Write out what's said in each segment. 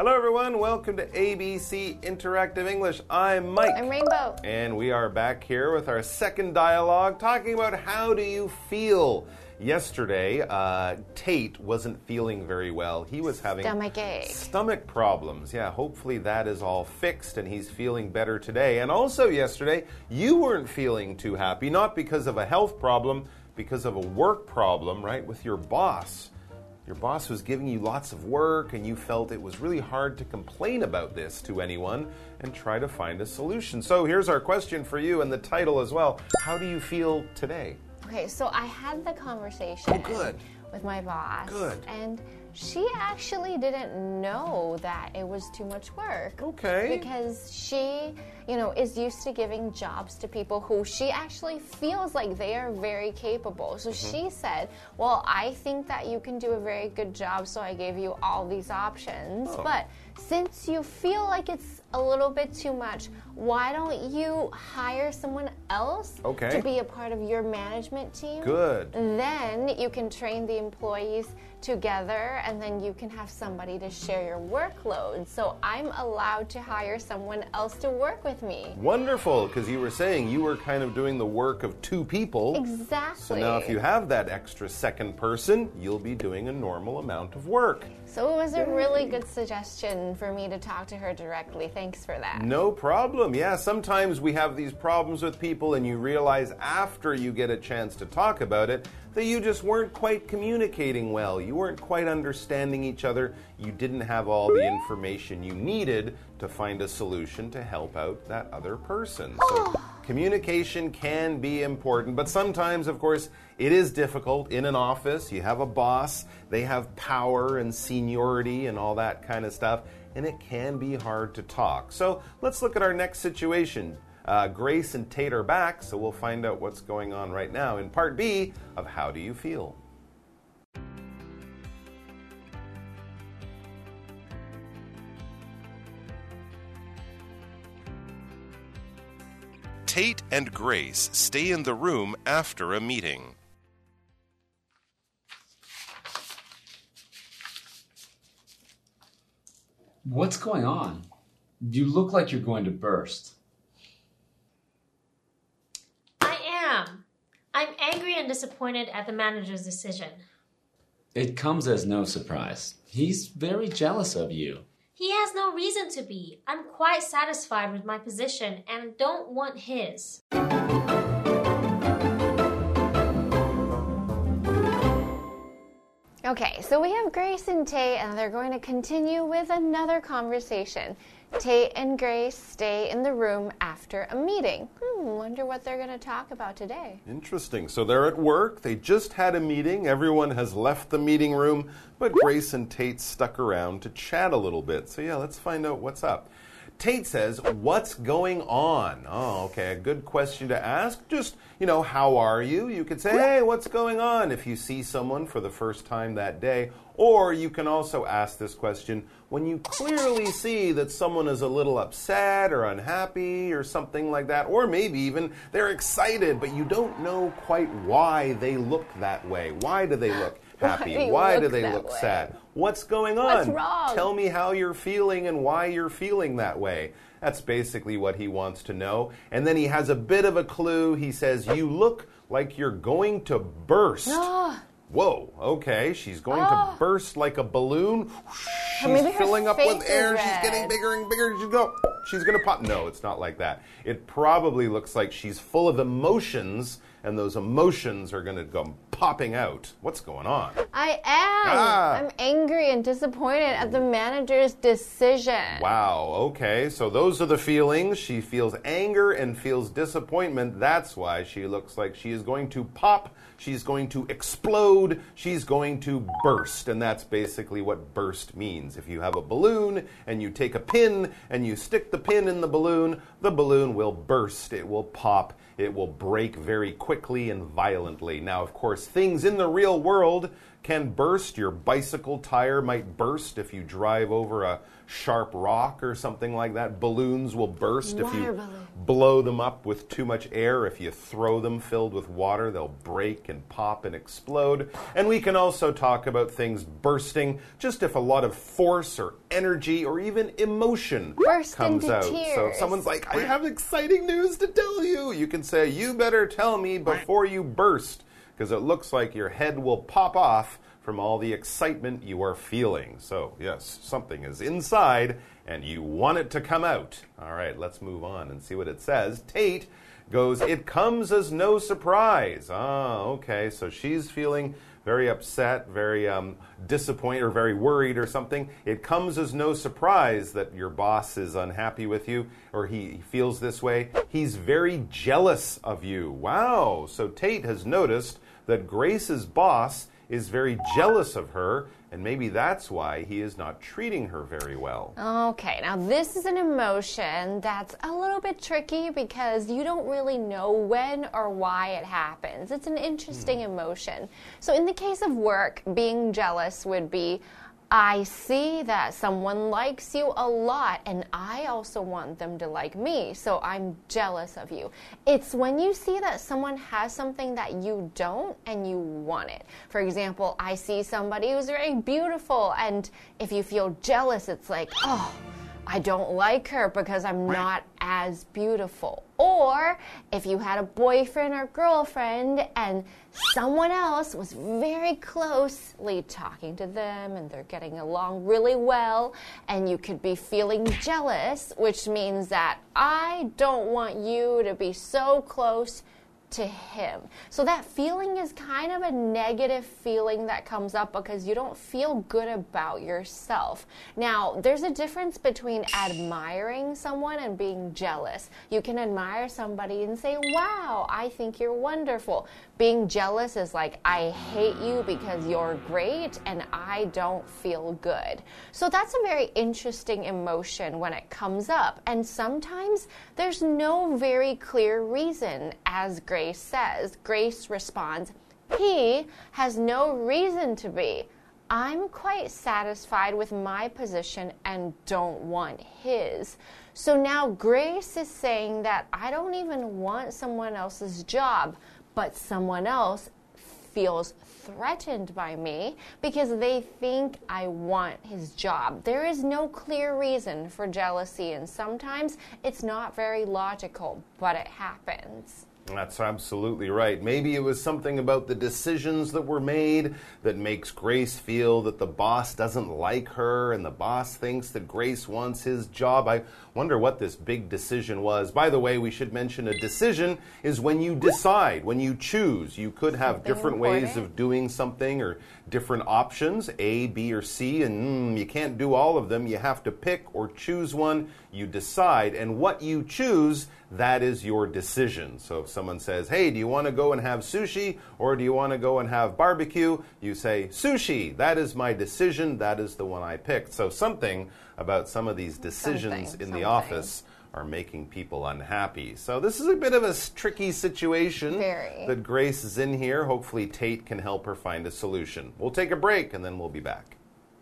Hello, everyone. Welcome to ABC Interactive English. I'm Mike. I'm Rainbow. And we are back here with our second dialogue talking about how do you feel. Yesterday, Tate wasn't feeling very well. He was having stomach problems. Yeah, hopefully that is all fixed and he's feeling better today. And also yesterday, you weren't feeling too happy, not because of a health problem, because of a work problem, right, with your boss. Your boss was giving you lots of work and you felt it was really hard to complain about this to anyone and try to find a solution. So here's our question for you and the title as well. How do you feel today? Okay, so I had the conversation with my boss. And she actually didn't know that it was too much work. Okay. Because she, is used to giving jobs to people who she actually feels like they are very capable. So she said, well, I think that you can do a very good job, so I gave you all these options. But since you feel like it's a little bit too much, why don't you hire someone else to be a part of your management team? Good. Then you can train the employees together, and then you can have somebody to share your workload. So I'm allowed to hire someone else to work with me. Wonderful, because you were saying you were kind of doing the work of two people. Exactly. So now if you have that extra second person, you'll be doing a normal amount of work. So it was a really good suggestion for me to talk to her directly. Thanks for that. No problem. Yeah, sometimes we have these problems with people and you realize after you get a chance to talk about it that you just weren't quite communicating well. You weren't quite understanding each other. You didn't have all the information you needed to find a solution to help out that other person. So communication can be important, but sometimes, of course, it is difficult in an office. You have a boss, they have power and seniority and all that kind of stuff, and it can be hard to talk. So let's look at our next situation. Grace and Tate are back, so we'll find out what's going on right now in part B of How Do You Feel? Tate and Grace stay in the room after a meeting. What's going on? You look like you're going to burst. I'm angry and disappointed at the manager's decision. It comes as no surprise. He's very jealous of you. He has no reason to be. I'm quite satisfied with my position and don't want his. Okay, so we have Grace and Tate, and they're going to continue with another conversation. Tate and Grace stay in the room after a meeting. Wonder what they're going to talk about today. Interesting. So they're at work. They just had a meeting. Everyone has left the meeting room, but Grace and Tate stuck around to chat a little bit. So yeah, let's find out what's up. Tate says, what's going on? Oh, okay, a good question to ask. Just, how are you? You could say, hey, what's going on if you see someone for the first time that day. Or you can also ask this question when you clearly see that someone is a little upset or unhappy or something like that. Or maybe even they're excited, but you don't know quite why they look that way. Why do they look happy? Why do they look sad? What's going on? What's wrong? Tell me how you're feeling and why you're feeling that way. That's basically what he wants to know. And then he has a bit of a clue. He says, you look like you're going to burst. Whoa, okay, she's going to burst like a balloon. She's filling up with air. She's getting bigger and bigger. She's going to pop. No, it's not like that. It probably looks like she's full of emotions, and those emotions are going to go popping out. What's going on? I am. I'm angry and disappointed at the manager's decision. Wow, okay, so those are the feelings. She feels anger and feels disappointment. That's why she looks like she is going to pop. She's going to explode. She's going to burst. And that's basically what burst means. If you have a balloon and you take a pin and you stick the pin in the balloon will burst. It will pop. It will break very quickly and violently. Now, of course, things in the real world can burst. Your bicycle tire might burst if you drive over a sharp rock or something like that. Balloons will burst if you blow them up with too much air. If you throw them filled with water, they'll break and pop and explode. And we can also talk about things bursting, just if a lot of force or energy or even emotion comes out. Tears. So if someone's like, I have exciting news to tell you, you can say, you better tell me before you burst, because it looks like your head will pop off from all the excitement you are feeling. So, yes, something is inside and you want it to come out. All right, let's move on and see what it says. Tate goes, it comes as no surprise. Oh, okay, so she's feeling very upset, very disappointed, or very worried or something. It comes as no surprise that your boss is unhappy with you, or he feels this way. He's very jealous of you. Wow, so Tate has noticed that Grace's boss is very jealous of her, and maybe that's why he is not treating her very well. Okay, now this is an emotion that's a little bit tricky because you don't really know when or why it happens. It's an interesting emotion. So in the case of work, being jealous would be, I see that someone likes you a lot and I also want them to like me, so I'm jealous of you. It's when you see that someone has something that you don't and you want it. For example, I see somebody who's very beautiful, and if you feel jealous, it's like, oh, I don't like her because I'm not as beautiful. Or if you had a boyfriend or girlfriend and someone else was very closely talking to them and they're getting along really well, and you could be feeling jealous, which means that I don't want you to be so close to him. So that feeling is kind of a negative feeling that comes up because you don't feel good about yourself. Now, there's a difference between admiring someone and being jealous. You can admire somebody and say, wow, I think you're wonderful. Being jealous is like, I hate you because you're great and I don't feel good. So that's a very interesting emotion when it comes up. And sometimes there's no very clear reason, as Grace says. Grace responds, he has no reason to be. I'm quite satisfied with my position and don't want his. So now Grace is saying that I don't even want someone else's job, but someone else feels threatened by me because they think I want his job. There is no clear reason for jealousy, and sometimes it's not very logical, but it happens. That's absolutely right. Maybe it was something about the decisions that were made that makes Grace feel that the boss doesn't like her and the boss thinks that Grace wants his job. I wonder what this big decision was. By the way, we should mention a decision is when you decide, when you choose. You could have different ways of doing something or different options, A, B, or C, and you can't do all of them. You have to pick or choose one. You decide, and what you choose, that is your decision. So if someone says, hey, do you want to go and have sushi or do you want to go and have barbecue? You say, sushi. That is my decision. That is the one I picked. So something about some of these decisions in the office are making people unhappy. So this is a bit of a tricky situation that Grace is in here. Hopefully Tate can help her find a solution. We'll take a break and then we'll be back.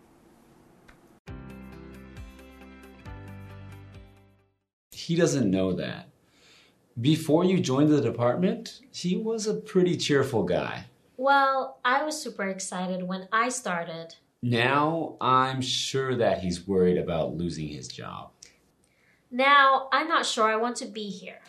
He doesn't know that. Before you joined the department, he was a pretty cheerful guy. Well, I was super excited when I started. Now, I'm sure that he's worried about losing his job. Now, I'm not sure I want to be here.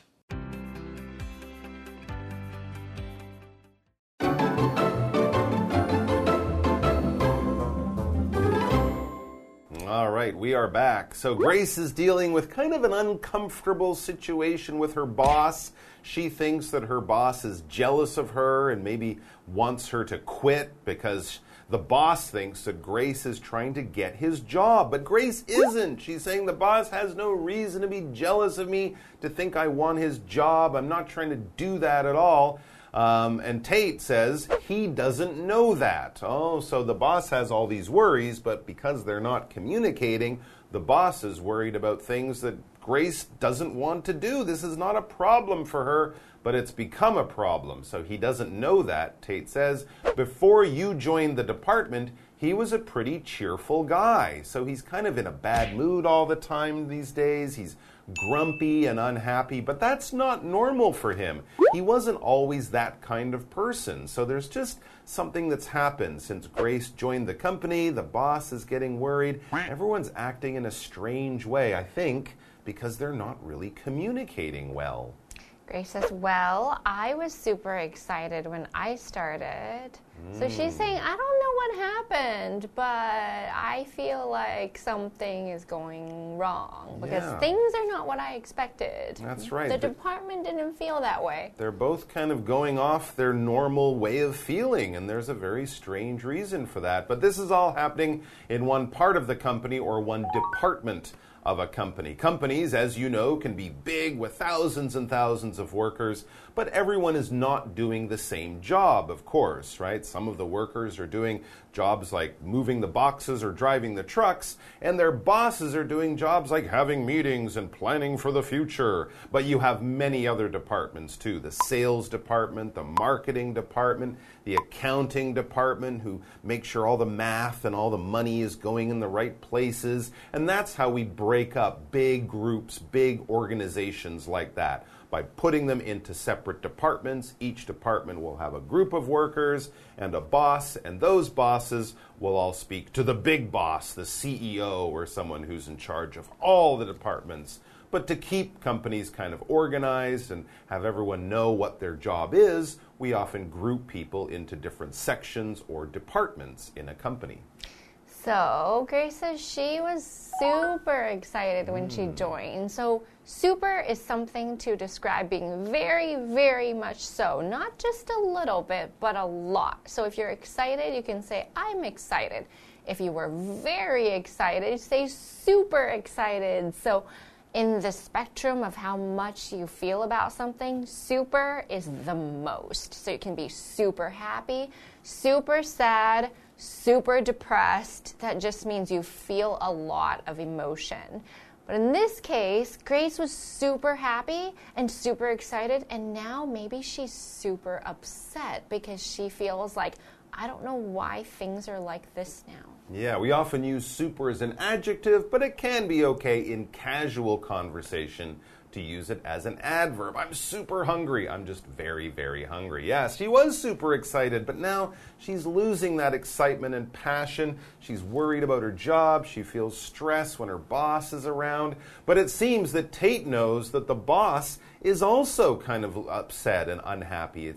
All right, we are back. So Grace is dealing with kind of an uncomfortable situation with her boss. She thinks that her boss is jealous of her and maybe wants her to quit because the boss thinks that Grace is trying to get his job. But Grace isn't. She's saying the boss has no reason to be jealous of me, to think I want his job. I'm not trying to do that at all. And Tate says he doesn't know that. Oh, so the boss has all these worries, but because they're not communicating, the boss is worried about things that Grace doesn't want to do. This is not a problem for her, but it's become a problem. So he doesn't know that, Tate says. Before you joined the department, he was a pretty cheerful guy. So he's kind of in a bad mood all the time these days. He's grumpy and unhappy, but that's not normal for him. He wasn't always that kind of person. So there's just something that's happened since Grace joined the company. The boss is getting worried. Everyone's acting in a strange way, I think, because they're not really communicating well. Grace says, well, I was super excited when I started. So she's saying, I don't know what happened, but I feel like something is going wrong because things are not what I expected. That's right. The department didn't feel that way. They're both kind of going off their normal way of feeling, and there's a very strange reason for that. But this is all happening in one part of the company or one department of a company. Companies, as you know, can be big with thousands and thousands of workers, but everyone is not doing the same job, of course, right? Some of the workers are doing jobs like moving the boxes or driving the trucks, and their bosses are doing jobs like having meetings and planning for the future. But you have many other departments too. The sales department, the marketing department, the accounting department, who make sure all the math and all the money is going in the right places. And that's how we break up big groups, big organizations like that. By putting them into separate departments. Each department will have a group of workers and a boss, and those bosses will all speak to the big boss, the CEO, or someone who's in charge of all the departments. But to keep companies kind of organized and have everyone know what their job is, we often group people into different sections or departments in a company. So Grace says she was super excited when she joined. So super is something to describe being very, very much so. Not just a little bit, but a lot. So if you're excited, you can say, I'm excited. If you were very excited, say super excited. So in the spectrum of how much you feel about something, super is the most. So you can be super happy, super sad, super depressed. That just means you feel a lot of emotion. But in this case, Grace was super happy and super excited, and now maybe she's super upset because she feels like, I don't know why things are like this now. Yeah, we often use super as an adjective, but it can be okay in casual conversation to use it as an adverb. I'm super hungry. I'm just very, very hungry. Yes, she was super excited, but now she's losing that excitement and passion. She's worried about her job. She feels stress when her boss is around. But it seems that Tate knows that the boss is also kind of upset and unhappy.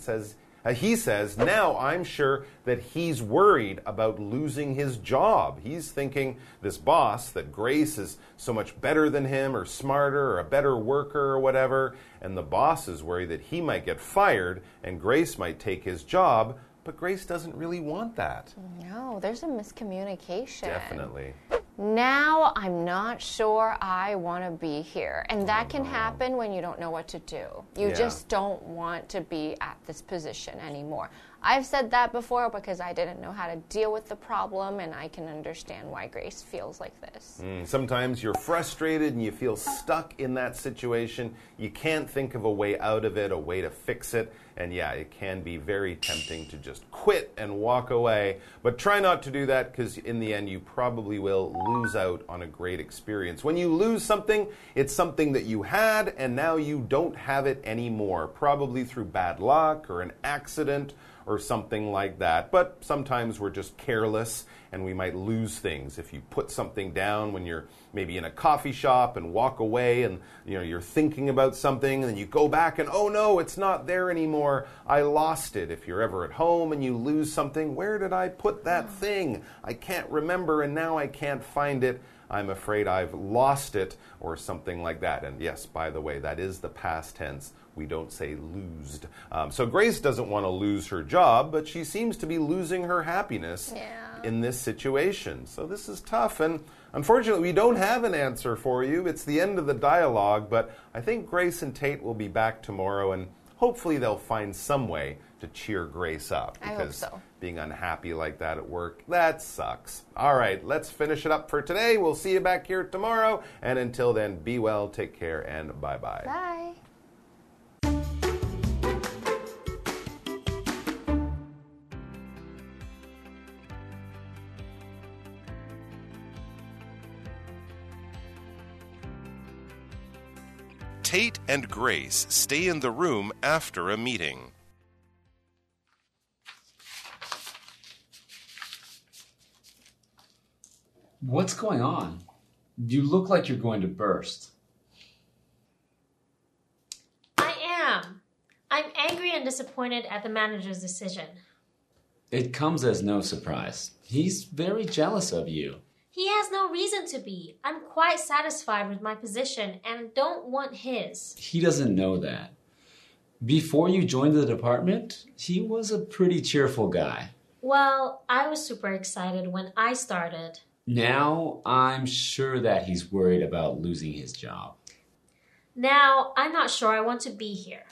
He says, now I'm sure that he's worried about losing his job. He's thinking this boss, that Grace is so much better than him or smarter or a better worker or whatever. And the boss is worried that he might get fired and Grace might take his job. But Grace doesn't really want that. No, there's a miscommunication. Definitely. Now I'm not sure I want to be here. And that can happen when you don't know what to do. You just don't want to be at this position anymore. I've said that before because I didn't know how to deal with the problem, and I can understand why Grace feels like this. Sometimes you're frustrated and you feel stuck in that situation. You can't think of a way out of it, a way to fix it. And yeah, it can be very tempting to just quit and walk away. But try not to do that, because in the end you probably will lose out on a great experience. When you lose something, it's something that you had and now you don't have it anymore. Probably through bad luck or an accident or something like that. But sometimes we're just careless and we might lose things. If you put something down when you're maybe in a coffee shop and walk away and you're thinking about something, and then you go back and, oh no, it's not there anymore. I lost it. If you're ever at home and you lose something, where did I put that thing? I can't remember and now I can't find it. I'm afraid I've lost it, or something like that. And yes, by the way, that is the past tense. We don't say losed. So Grace doesn't want to lose her job, but she seems to be losing her happiness in this situation. So this is tough. And unfortunately, we don't have an answer for you. It's the end of the dialogue, but I think Grace and Tate will be back tomorrow, and hopefully they'll find some way to cheer Grace up. Because I hope so. Being unhappy like that at work, that sucks. All right, let's finish it up for today. We'll see you back here tomorrow. And until then, be well, take care, and bye-bye. Bye. Tate and Grace stay in the room after a meeting. What's going on? You look like you're going to burst. I am. I'm angry and disappointed at the manager's decision. It comes as no surprise. He's very jealous of you. He has no reason to be. I'm quite satisfied with my position and don't want his. He doesn't know that. Before you joined the department, he was a pretty cheerful guy. Well, I was super excited when I started. Now, I'm sure that he's worried about losing his job. Now, I'm not sure I want to be here.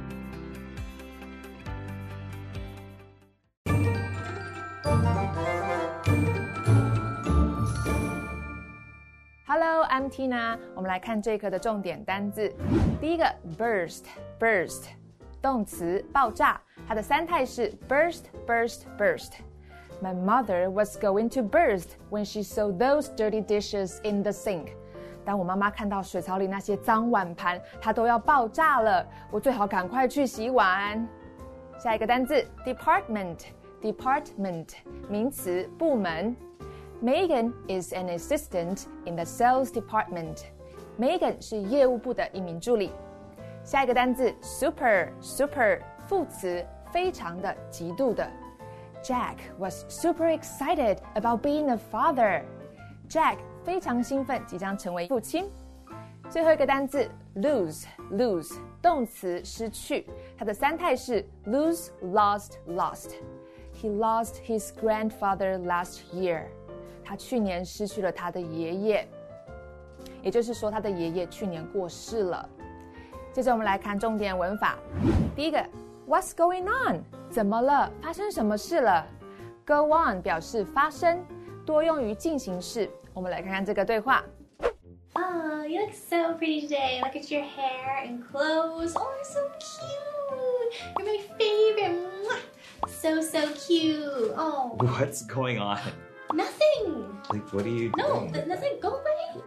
Hello, I'm Tina. 我们来看这一课的重点单字。第一个 burst， 动词爆炸，它的三态是 burst。My mother was going to burst when she saw those dirty dishes in the sink. 当我妈妈看到水槽里那些脏碗盘，她都要爆炸了。我最好趕快去洗碗。下一個單字 department， 名詞部門。Megan is an assistant in the sales department. Megan 是業務部的一名助理。下一個單字 super， 副詞非常的、極度的。Jack was super excited about being a father. Jack 非常興奮，即將成為父親。最後一個單字 lose， 動詞失去，它的三態是 lose, lost. He lost his grandfather last year. 他去年失去了他的爺爺，也就是說他的爺爺去年過世了。接着我們來看重點文法。第一個 What's going on？ 怎麼了？發生什麼事了？ Go on 表示發生，多用於進行式。我們來看看這個對話。 Oh, you look so pretty today. Look at your hair and clothes. Oh, you're so cute. You're my favorite. So cute. Oh. What's going on? Nothing. Like, what are you No, doing? nothing. Go away.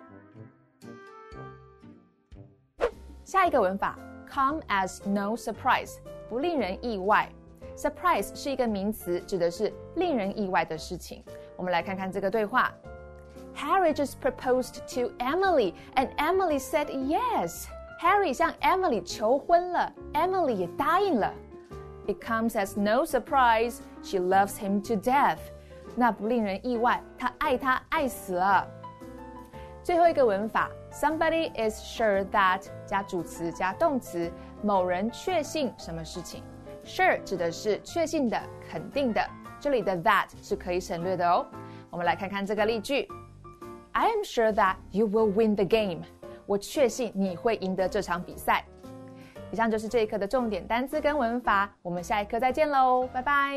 下一個文法 come as no surprise， 不令人意外。Surprise 是一個名詞，指的是令人意外的事情。我們來看看這個對話。Harry just proposed to Emily, and Emily said yes. Harry 向 Emily 求婚了 ，Emily 也答應了。It comes as no surprise, she loves him to death. 那不令人意外，他愛他愛死了。最後一個文法 Somebody is sure that 加主詞加動詞，某人確信什麼事情。Sure 指的是確信的、肯定的，這裡的 that 是可以省略的哦。我們來看看這個例句 I am sure that you will win the game. 我確信你會贏得這場比賽。以上就是這一課的重點單字跟文法，我們下一課再見嘍，拜拜。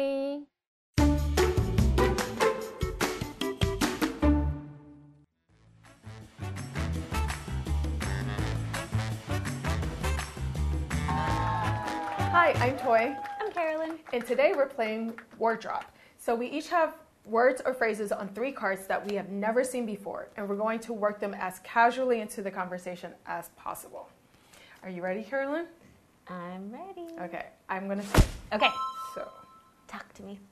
Hi, I'm Toy. I'm Carolyn. And today we're playing Word Drop. So we each have words or phrases on 3 cards that we have never seen before, and we're going to work them as casually into the conversation as possible. Are you ready, Carolyn? I'm ready. Okay, I'm going to say. Okay. So, Talk to me.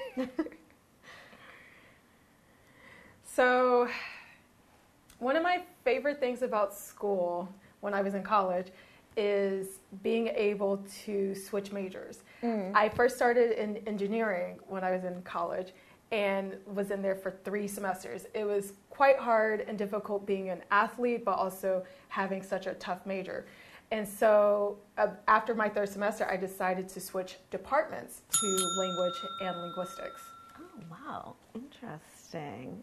So, one of my favorite things about school when I was in college is being able to switch majors. I first started in engineering when I was in college and was in there for 3 semesters. It was quite hard and difficult being an athlete, but also having such a tough major. And so after my 3rd semester, I decided to switch departments to language and linguistics. Oh, wow. Interesting.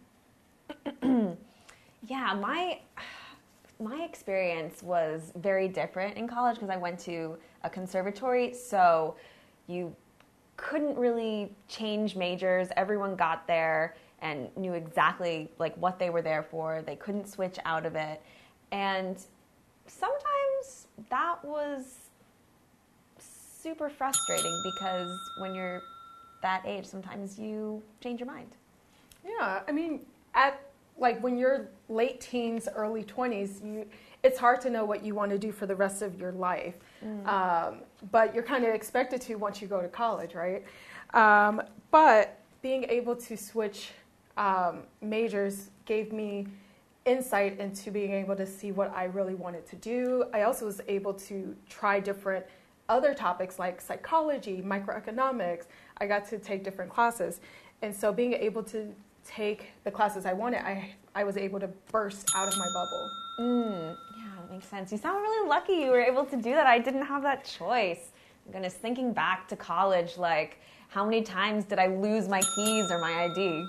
Yeah, my experience was very different in college because I went to a conservatory, so you couldn't really change majors. Everyone got there and knew exactly like what they were there for. They couldn't switch out of it. And sometimes that was super frustrating because when you're that age, sometimes you change your mind. Yeah, I mean, when you're late teens, early 20s, it's hard to know what you want to do for the rest of your life. But you're kind of expected to once you go to college, right? But being able to switch majors gave me insight into being able to see what I really wanted to do. I also was able to try different other topics like psychology, microeconomics. I got to take different classes. And so being able to take the classes I wanted, I was able to burst out of my bubble. Yeah, that makes sense. You sound really lucky you were able to do that. I didn't have that choice. Goodness, thinking back to college, like, how many times did I lose my keys or my ID?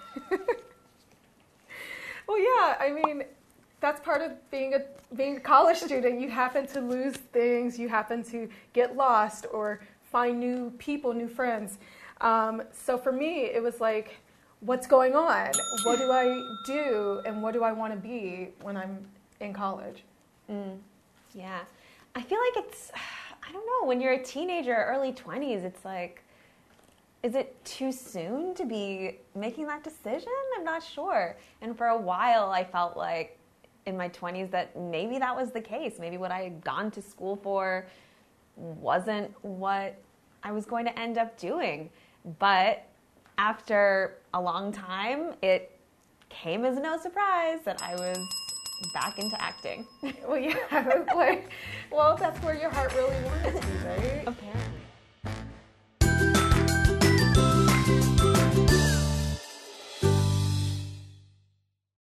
Well, yeah, I mean, that's part of being a college student. You happen to lose things, you happen to get lost or find new people, new friends. So for me, it was like, what's going on? What do I do? And what do I want to be when I'm in college? Yeah. I feel like it's, I don't know, when you're a teenager, early 20s, it's like, is it too soon to be making that decision? I'm not sure. And for a while, I felt like in my 20s that maybe that was the case. Maybe what I had gone to school for wasn't what I was going to end up doing. But after a long time, it came as no surprise that I was back into acting. Well, yeah, I was like, well, that's where your heart really wanted to be, right? Apparently.